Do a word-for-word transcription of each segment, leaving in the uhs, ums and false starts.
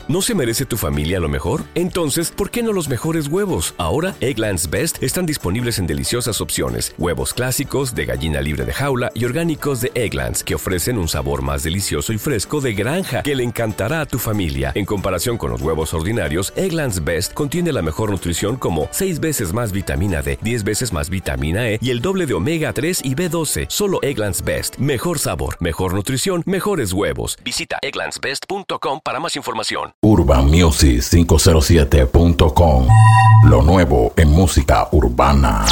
¿No se merece tu familia lo mejor? Entonces, ¿por qué no los mejores huevos? Ahora, Eggland's Best están disponibles en deliciosas opciones. Huevos clásicos, de gallina libre de jaula y orgánicos de Eggland's, que ofrecen un sabor más delicioso y fresco de granja que le encantará a tu familia. En comparación con los huevos ordinarios, Eggland's Best contiene la mejor nutrición como seis veces más vitamina D, diez veces más vitamina E y el doble de omega tres y B doce. Solo Eggland's Best. Mejor sabor, mejor nutrición, mejores huevos. Visita egglands best punto com para más información. Urban Music cinco cero siete punto com. Lo nuevo en música urbana.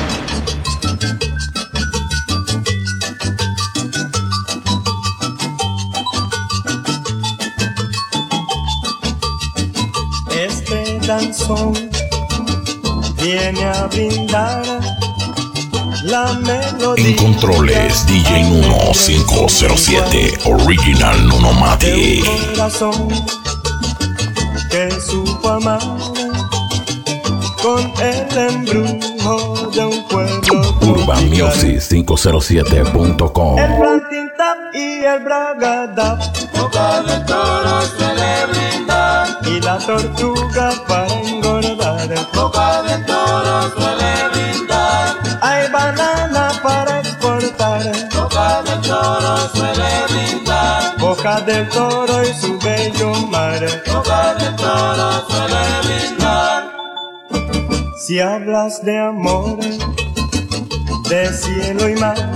Este danzón viene a brindar la melodía. En controles, D J Nuno cinco cero siete, Original Nuno Mati. Un corazón que supo amar con el embrujo de un pueblo. Urban Music cinco cero siete punto com. El planting tap y el bragadap, boca de toro suele brindar, y la tortuga para engordar, boca de toro suele brindar. Hay banana para exportar, boca de toro suele brindar, Boca del Toro y su bello mar, boca de toro suele brindar. Si hablas de amor, de cielo y mar,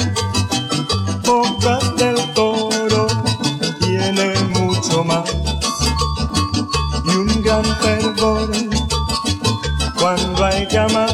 Boca del Toro tiene mucho más, y un gran fervor cuando hay que amar.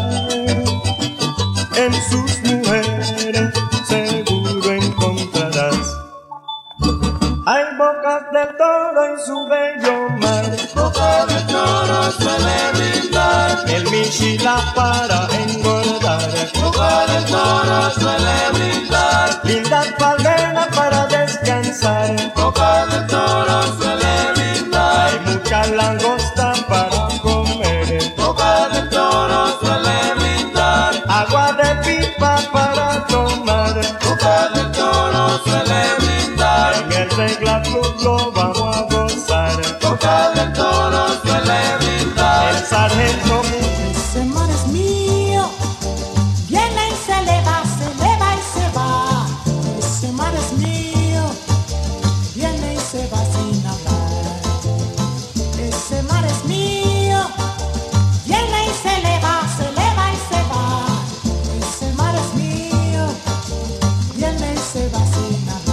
En sus mujeres seguro encontrarás. Hay bocas del Toro en su bello mar, boca del toro suele brindar, el michila para engordar, boca del toro suele brindar, lindas palmeras para descansar, boca del toro suele brindar, hay mucha langosta para comer, boca del toro suele brindar, agua de pipa para tomar, boca del toro suele brindar, en el Regla Club lo vamos a gozar, boca del toro suele brindar. el sargento. Ese mar es mío, viene y se eleva, se eleva y se va. Ese mar es mío, viene y se va sin hablar. Ese mar es mío, viene y se eleva, se eleva y se va. Ese mar es mío, viene y se va sin hablar.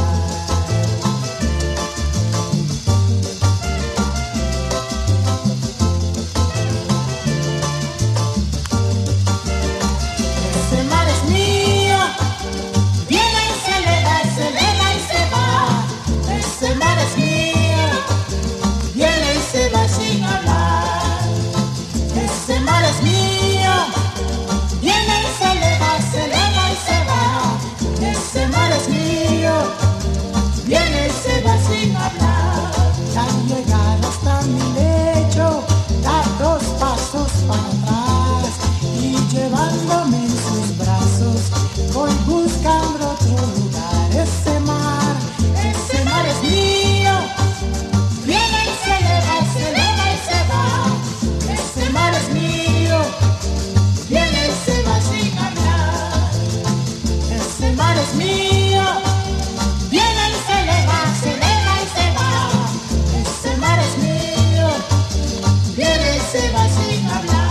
Ese mar es mío, viene y se eleva, se eleva y se va. Ese mar es mío, viene y se va sin hablar. Ese mar es mío, viene y se eleva, se eleva y se va. Ese mar es mío, viene y se va sin hablar. Al llegar hasta mi lecho, da dos pasos para atrás y llevándome en sus brazos, voy buscando otro lugar. Ese mar, ese mar es mío, viene y se eleva, se eleva y se va. Ese mar es mío, viene y se va sin hablar. Ese mar es mío, viene y se eleva, se eleva y se va. Ese mar es mío, viene y se va sin hablar.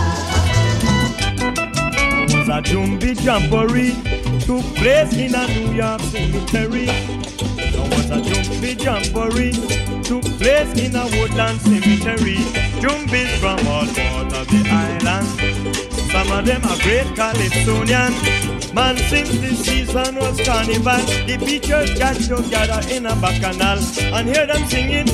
Was a jumpy jamboree took place in a New York cemetery. There was a jumpy jamboree took place in a woodland cemetery. Jumpies from all parts of the island. Some of them are great Calypsonian. Man since the season was carnival, the preachers got together in a bacchanal and hear them singing.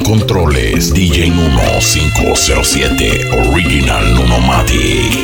controles, D J Nuno cinco cero siete, Original Nunomatic.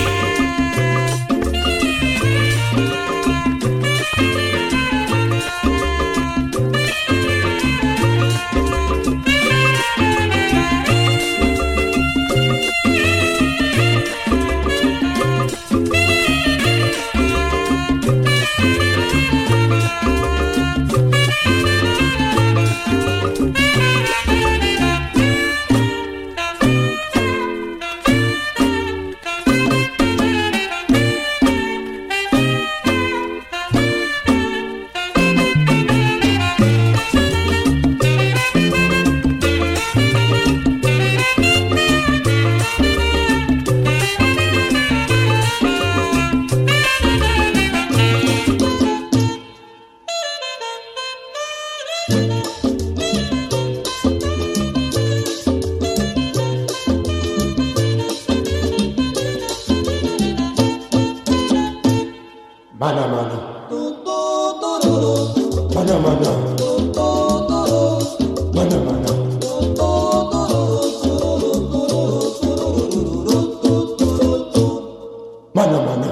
Mana mana, mana mana, mana mana, mana mana,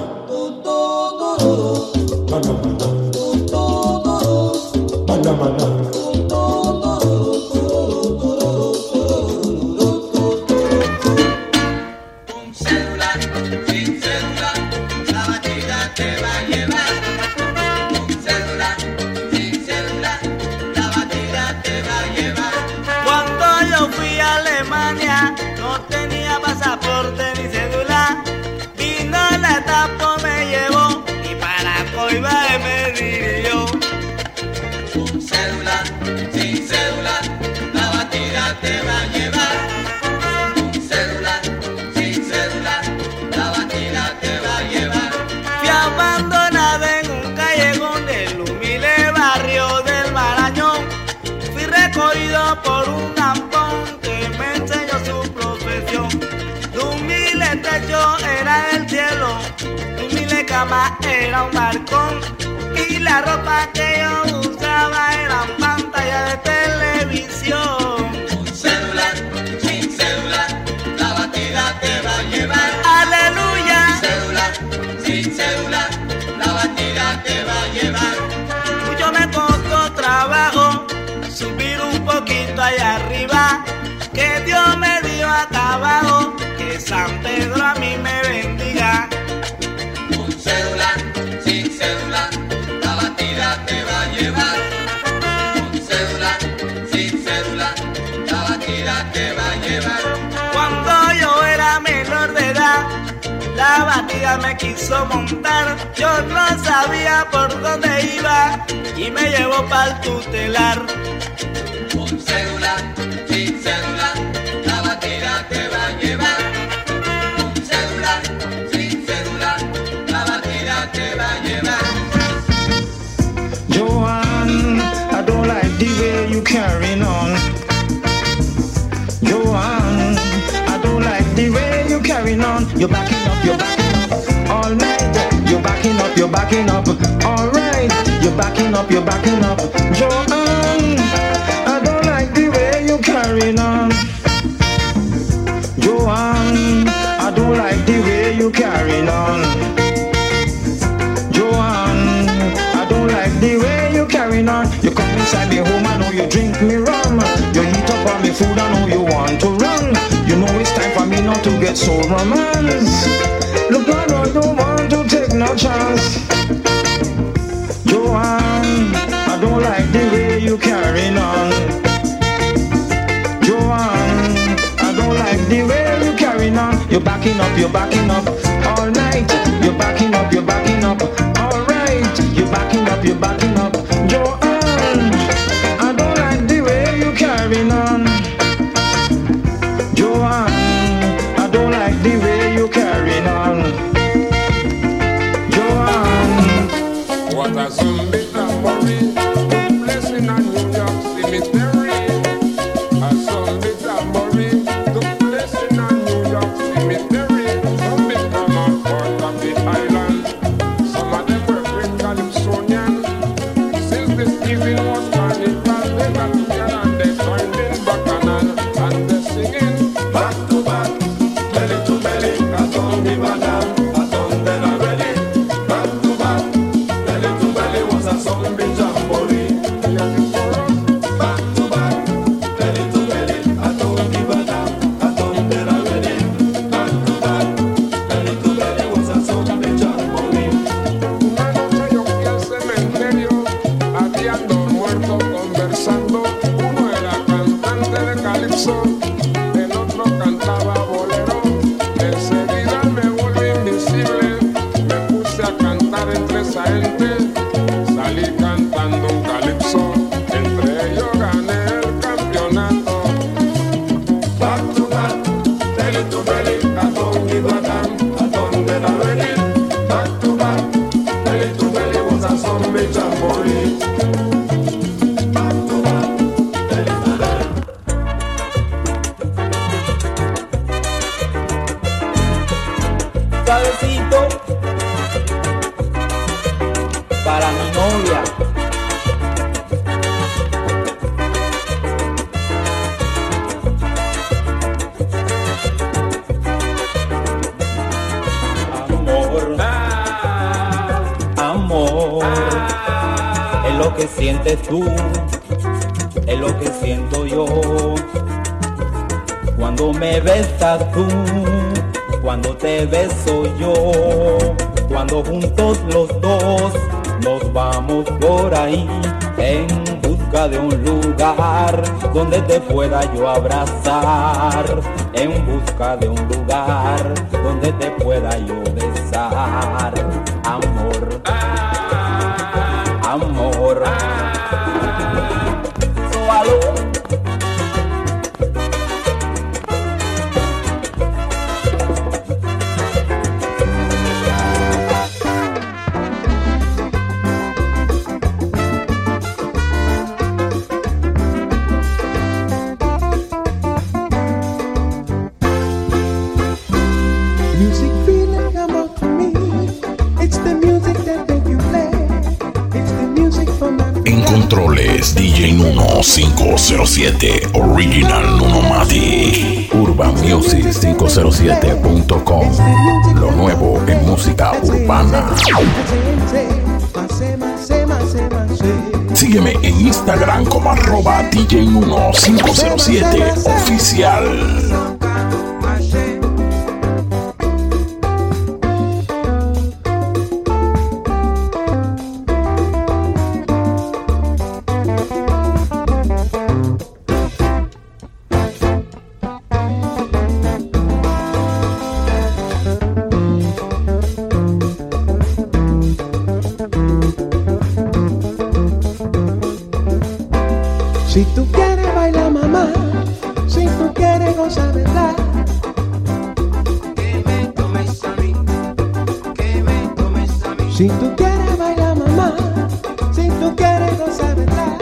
mana mana, mana mana. Te va a llevar un celular, sin celular, la batida te va a llevar. Fui abandonada en un callejón del humilde barrio del Marañón. Fui recogido por un ampón que me enseñó su profesión. Tu humilde techo era el cielo, tu humilde cama era un balcón, y la ropa que yo usaba eran pantallas de televisión. Aleluya. Sin celular, sin celular, la batida te va a llevar. Mucho me costó trabajo subir un poquito allá arriba, que Dios me dio acá abajo, que San Pedro a mí me bendiga. Un celular, sin celular, la batida te va a llevar. Un celular, sin celular, la batida te va a llevar. Cuando yo era menor de edad, la batida me quiso montar. Yo no sabía por dónde iba y me llevó pa'l tutelar. Un celular, sin celular, la batida te va a llevar. Un celular, sin celular, la batida te va a llevar. Joanne, I don't like the way you carrying on. Joanne, I don't like the way you carrying on. You're backing up, you're backing up all night. You're backing up, you're backing up all right. You're backing up, you're backing up. Joanne, I don't like the way you carrying on. Joanne, I don't like the way you carrying on. Joanne, I don't like the way you carrying on. You come inside me home, I know you drink me rum. You heat up on me food, I know you want to run. You know it's time for me not to get so romance. Look, I don't want to take no chance. Joanne, I don't like the way you carrying on. Joanne, I don't like the way you carrying on. You're backing up, you're backing up all night. You're backing up, you're backing up all right. You're backing up, you're backing up. Joanne, I don't like the way you carrying on. Joanne, I don't like the way you carrying on. Joanne, what a zombie tambourine, blessing on New York cemetery. A zombie tambourine, the blessing on New York cemetery. Some big come out part of the island. Some of them were great Calypsonian. Since this evening was carnival, they got together and they joined in Bacchanal. gente. Salí cantando un calipso, entre ellos gané el campeonato. Back to back, belly to belly, a dónde Badam, a dónde la venir. Back to back, belly to belly was a zombie jamboree. Back to back, belly to belly. Suavecito para mi novia. Amor, amor, es lo que sientes tú, es lo que siento yo. Cuando me besas tú, cuando te beso yo, cuando juntos los dos nos vamos por ahí en busca de un lugar donde te pueda yo abrazar, en busca de un lugar donde te pueda yo besar. Amor, amor, sualo. Music feeling come out to me. It's the music that make you play. It's the music from my En controles, D J Nuno cinco cero siete, Original Nunomati. Urban Music cinco cero siete punto com. Lo nuevo en música urbana. Sígueme en Instagram como arroba D J Nuno cinco cero siete oficial. Si tú quieres bailar, mamá, si tú quieres gozar, ¿verdad? Que me tomes a mí, que me tomes a mí. Si tú quieres bailar, mamá, si tú quieres gozar, ¿verdad?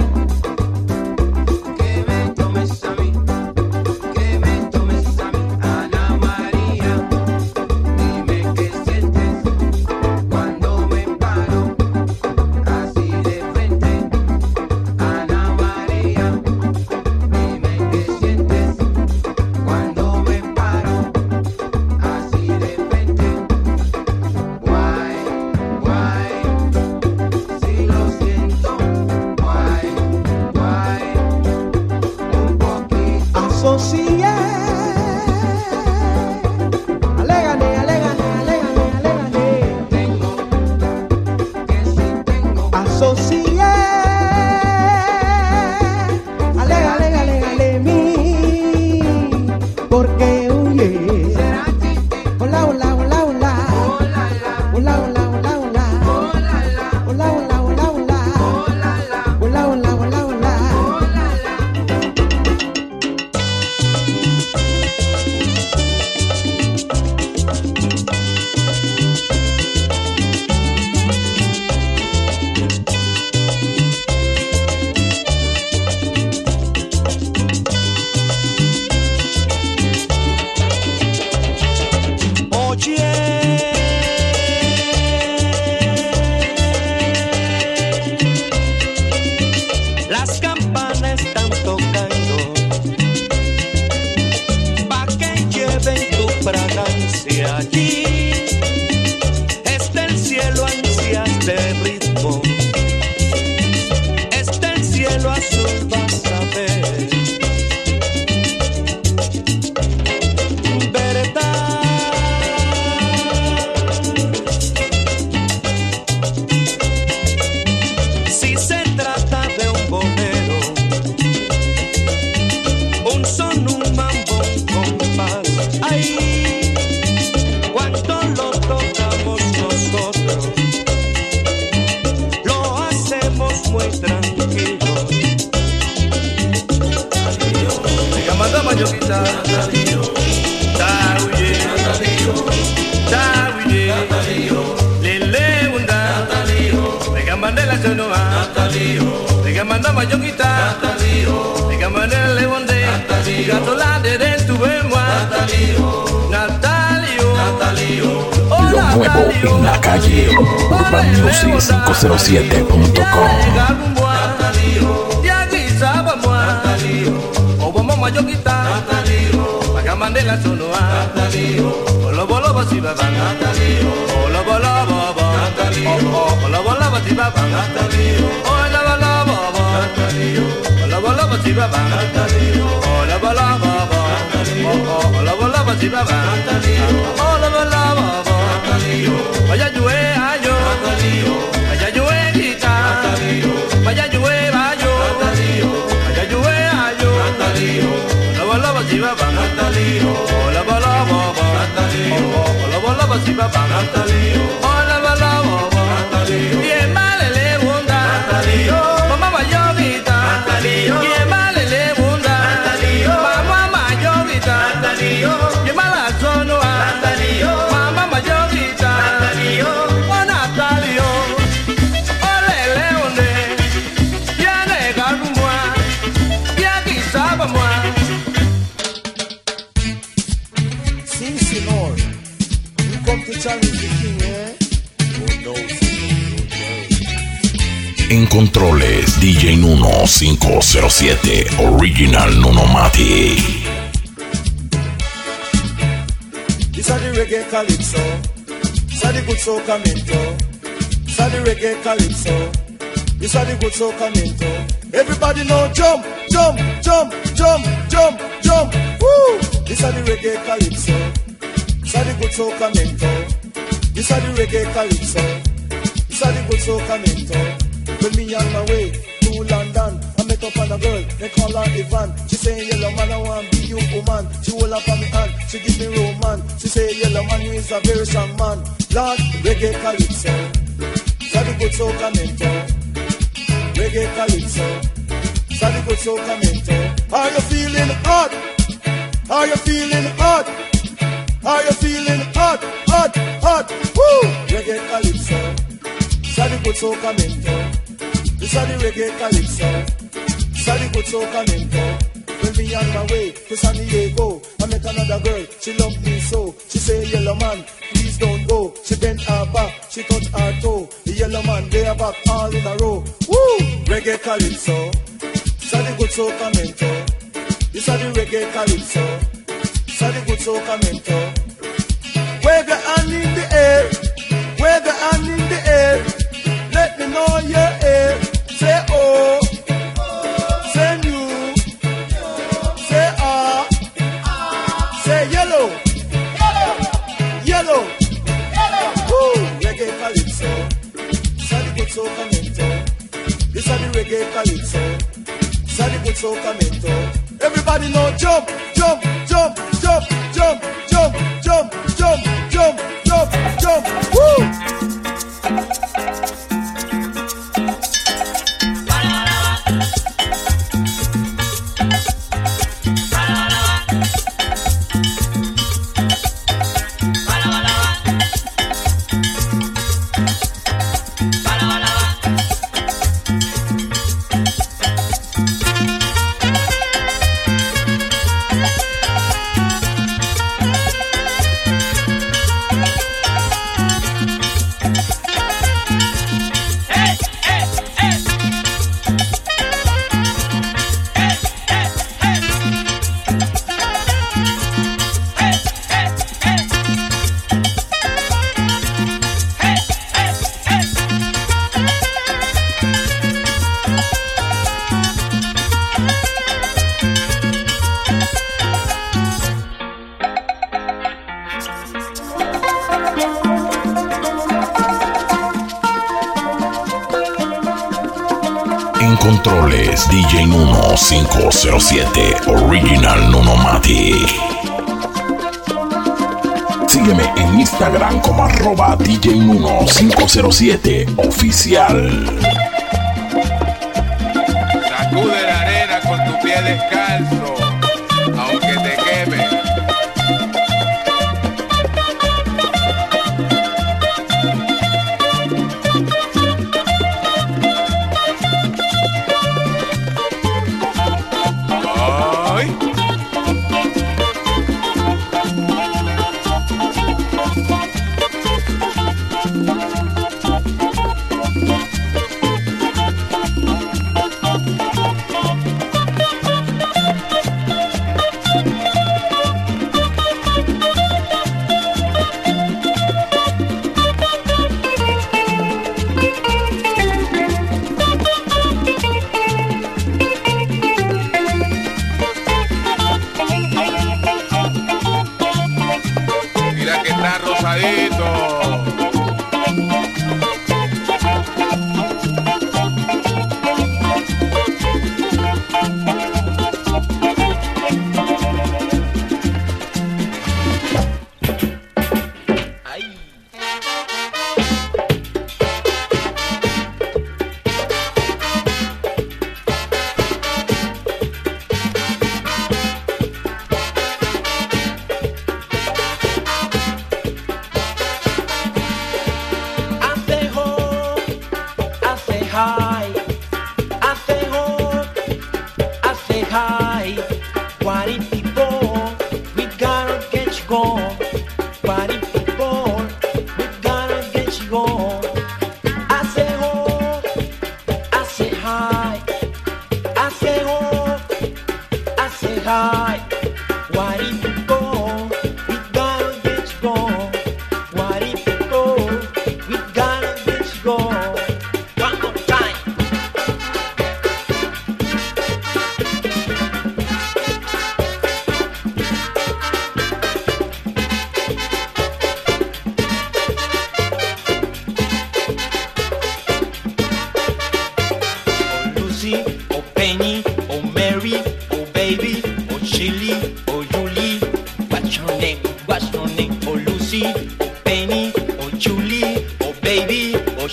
Que me tomes a mí, que me tomes a mí. Ana María, dime qué sientes cuando me paro así de frente. Ana María, dime qué sientes cuando me paro así de frente. Guay, guay, si lo siento. Guay, sono a Natalio, diga manda mayonguita Natalio, diga manele lemonde Natalio, gatolade dentro bemwa Natalio, Natalio, Natalio. Lo nuevo en la calle, urban music cinco cero siete punto com. Mandela sono a Natalio, bolo bolo basi baba Natalio, bolo bolo baba Natalio, bolo bolo basi baba Natalio, bolo bolo baba Natalio, bolo bolo basi baba Natalio, bolo bolo baba Natalio, bolo bolo basi baba Natalio, bolo bolo baba Natalio, vaya llue ayo Natalio, vaya llue gita Natalio, vaya llue bayo Natalio, vaya llue ayo Natalio, bolo bolo basi baba Natalio, hola bala baba Natalio, hola bala basi baba Natalio, hola bala baba Natalio, bien male le bunda Natalio, mamá mayorita Natalio, bien male le bunda Natalio, mamá mayorita Natalio, bien mala sono Natalio, mamá mayorita Natalio, oh Natalio, ole le bonde, viene garumwa, viene sabamwa. Sí, señor. You come to challenge the king, eh? Oh no, En controles, D J Nuno cinco cero siete, Original Nuno Mati. This are the reggae calypso. This are the good soca minto. This are the reggae calypso. This are the good soca minto. Everybody know jump, jump, jump, jump, jump, jump. Woo! This are the reggae calypso. This are the good soca minto. This are the reggae calypso. This are the good soca minto. When me on my way to London, I met up on a girl, they call her Ivan. She say, yellow man, I want be you woman. She hold up on me hand, she give me roman. She say, yellow man, you is a very strong man. Lord, reggae calypso. This are the good soca minto. Reggae calypso. This are the good soca minto. Are you feeling hot? Are you feeling hot? Are you feeling hot, hot, hot? Woo! Reggae calypso. This are the good soca minto. This are the reggae calypso. This are the good soca minto. When me on my way to San Diego, I met another girl, she loved me so. She say, yellow man, please don't go. She bent her back, she touched her toe. The yellow man, they are back all in a row. Woo! Reggae calypso. This are the good soca minto. This are the reggae calypso. This are the good soca minto. Wave your hand in the air. Wave your hand in the air. Let me know you're here. Say oh. Say new. Say ah. Say yellow. Yellow. Woo. Reggae calypso. This are the good soca minto. This are the reggae calypso. This are the good soca minto. Everybody know jump, jump, jump, jump, jump, jump, jump, jump, jump, jump, jump. Woo! En controles, D J Nuno cinco cero siete, Original Nuno Mati. Sígueme en Instagram como arroba D J Nuno cinco cero siete oficial. Sacude la arena con tu pie descalzo, aunque te queme.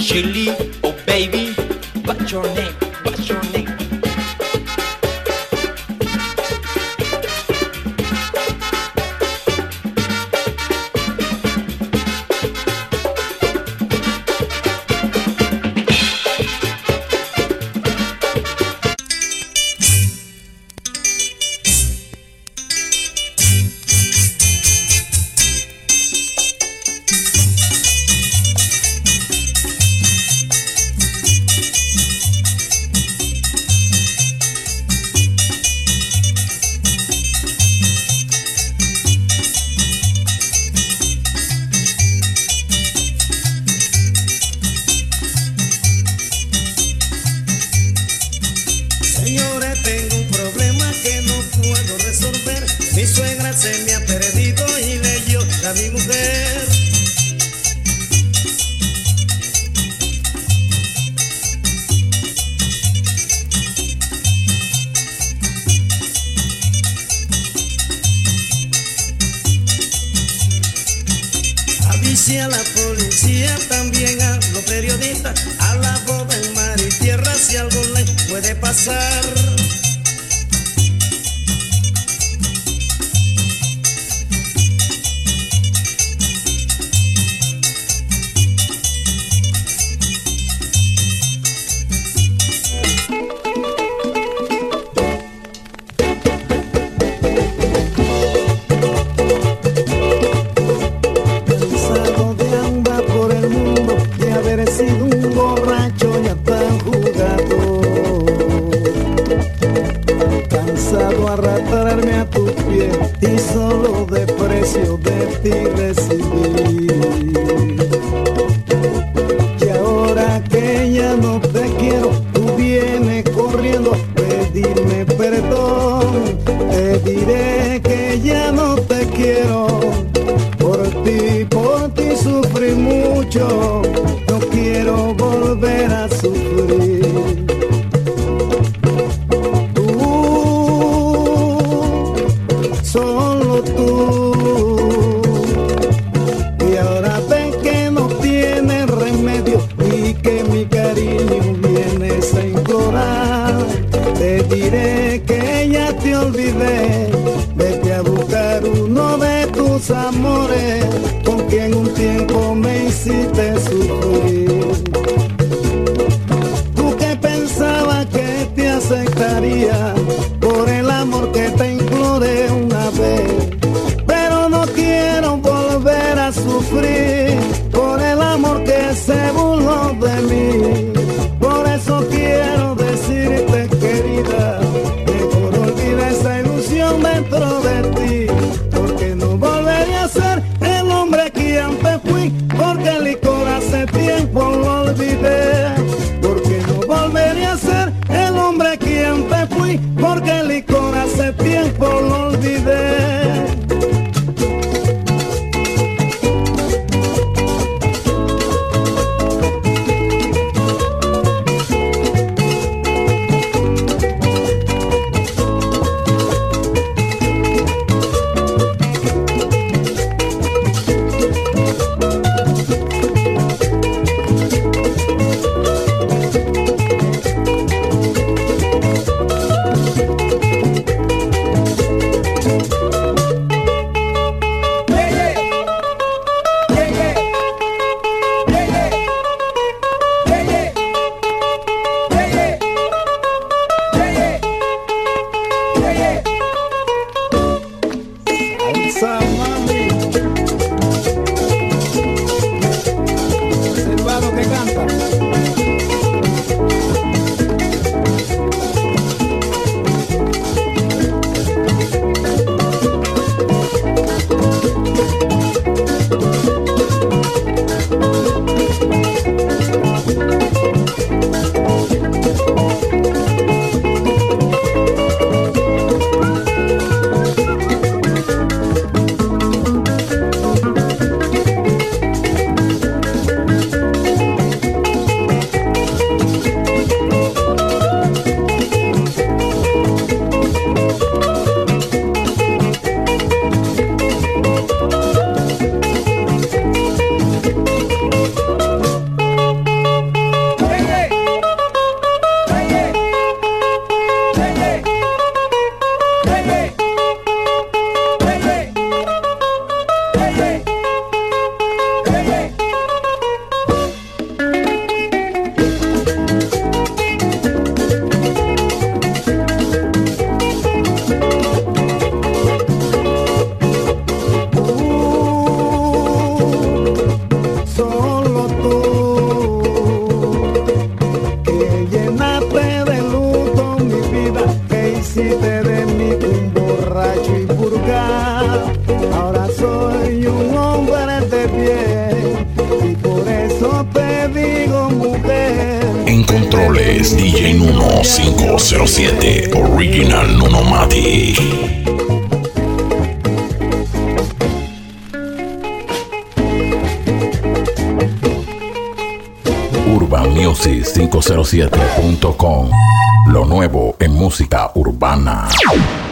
Chili, oh baby, what's your name? What's your name? Señores, tengo un problema que no puedo resolver. Mi suegra se me ha perdido y le dio a mi mujer. Avise a la policía, también a los periodistas, a la boda en mar y tierra si algo le puede pasar. Cansado de andar por el mundo, de haber sido un borracho ya tan jugado. Cansado de arrastrarme a tus pies y solo de precio de ti recibí. Y ahora que ya no te quiero, tú vienes corriendo a pedirme perdón. Te diré que ya no te quiero. Por ti, por ti sufrí mucho, no quiero volver a sufrir. Tú, solo tú, y ahora ven que no tiene remedio y que mi cariño vienes a implorar. Te diré que ya te olvidé, vete a buscar uno de tus amores, con quien un tiempo me hiciste sufrir. Tú que pensabas que te aceptaría por el amor que te imploré una vez, pero no quiero volver a sufrir por el amor que se burló de mí. Por eso quiero decirte, querida, mejor olvida esa ilusión dentro de ti, porque no volvería a ser el hombre que antes fui, porque el licor hace tiempo lo olvidé. Porque no volvería a ser el hombre que antes fui, porque el licor hace tiempo lo olvidé. En controles, D J Nuno cinco cero siete, Original Nuno Mati. Urban Music cinco cero siete punto com. Lo nuevo en música urbana.